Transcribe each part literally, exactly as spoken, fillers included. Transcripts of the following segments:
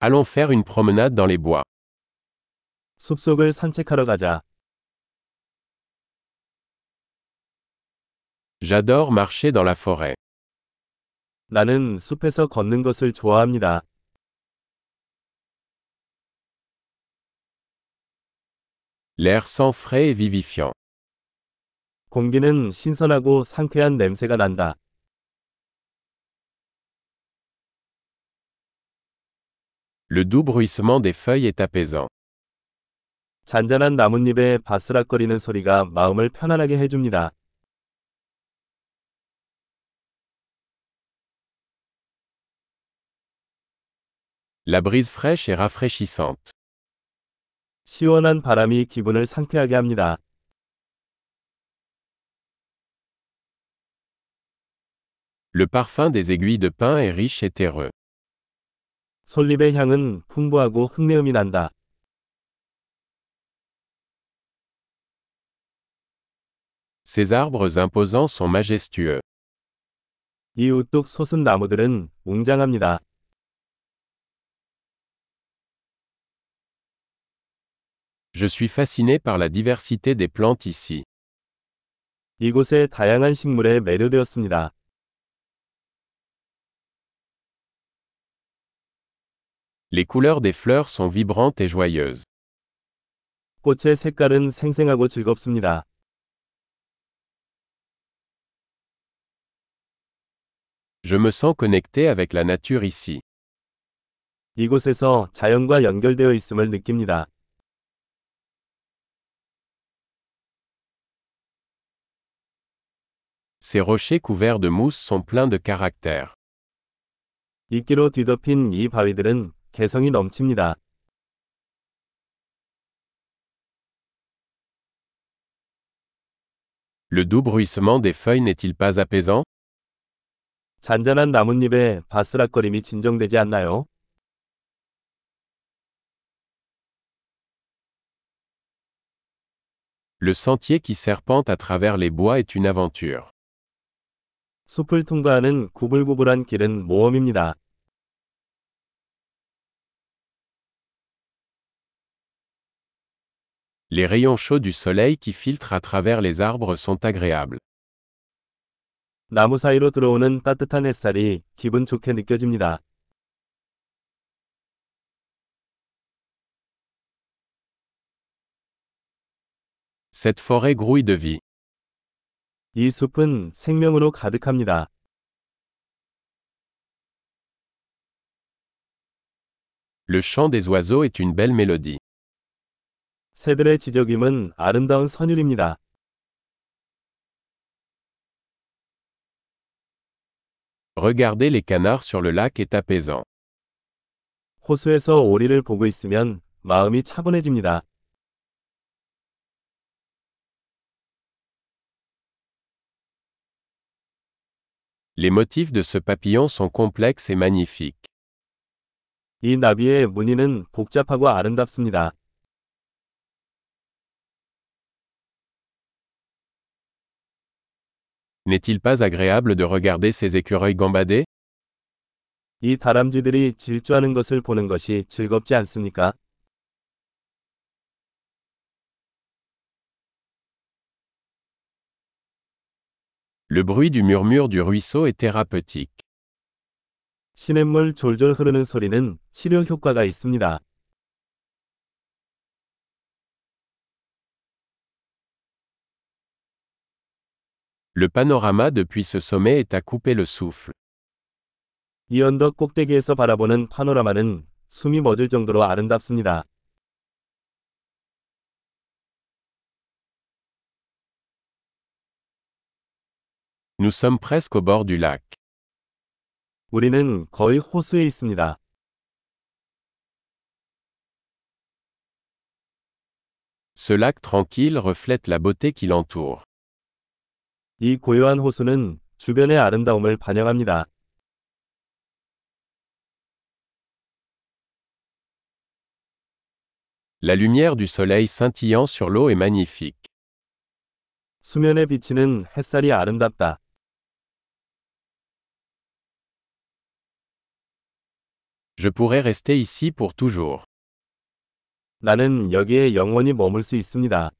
Allons faire une promenade dans les bois. 숲속을 산책하러 가자. J'adore marcher dans la forêt. 나는 숲에서 걷는 것을 좋아합니다. L'air sent frais et vivifiant. 공기는 신선하고 상쾌한 냄새가 난다. Le doux bruissement des feuilles est apaisant. 잔잔한 나뭇잎의 바스락거리는 소리가 마음을 편안하게 해줍니다. La brise fraîche est rafraîchissante. 시원한 바람이 기분을 상쾌하게 합니다. Le parfum des aiguilles de pin est riche et terreux. 솔잎의 향은 풍부하고 흙내음이 난다. Ces arbres imposants sont majestueux. 이 우뚝 솟은 나무들은 웅장합니다. Je suis fasciné par la diversité des plantes ici. 이곳의 다양한 식물에 매료되었습니다. Les couleurs des fleurs sont vibrantes et joyeuses. 꽃의 색깔은 생생하고 즐겁습니다. Je me sens connecté avec la nature ici. 이곳에서 자연과 연결되어 있음을 느낍니다. Ces rochers couverts de mousse sont pleins de caractère. 이끼로 뒤덮인 이 바위들은 개성이 넘칩니다. Le doux bruissement des feuilles n'est-il pas apaisant? 잔잔한 나뭇잎의 바스락거림이 진정되지 않나요? Le sentier qui serpente à travers les bois est une aventure. 숲을 통과하는 구불구불한 길은 모험입니다. Les rayons chauds du soleil qui filtrent à travers les arbres sont agréables. 나무 사이로 들어오는 따뜻한 햇살이 기분 좋게 느껴집니다. Cette forêt grouille de vie. 이 숲은 생명으로 가득합니다. Le chant des oiseaux est une belle mélodie. 새들의 지저귀는 아름다운 선율입니다. Regarder les canards sur le lac est apaisant. 호수에서 오리를 보고 있으면 마음이 차분해집니다. Les motifs de ce papillon sont complexes et magnifiques. 이 나비의 무늬는 복잡하고 아름답습니다. N'est-il pas agréable de regarder ces écureuils gambader? 이 다람쥐들이 질주하는 것을 보는 것이 즐겁지 않습니까? Le bruit du murmure du ruisseau est thérapeutique. 시냇물 졸졸 흐르는 소리는 치료 효과가 있습니다. Le panorama depuis ce sommet est à couper le souffle. 이 언덕 꼭대기에서 바라보는 파노라마는 숨이 멎을 정도로 아름답습니다. Nous sommes presque au bord du lac. 우리는 거의 호수에 있습니다. Ce lac tranquille reflète la beauté qui l'entoure. 이 고요한 호수는 주변의 아름다움을 반영합니다. La lumière du soleil scintillant sur l'eau est magnifique. 수면에 비치는 햇살이 아름답다. Je pourrais rester ici pour toujours. 나는 여기에 영원히 머물 수 있습니다.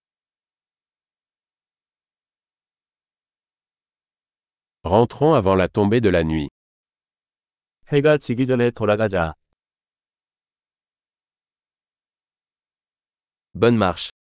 Rentrons avant la tombée de la nuit. 해가 지기 전에 돌아가자. Bonne marche.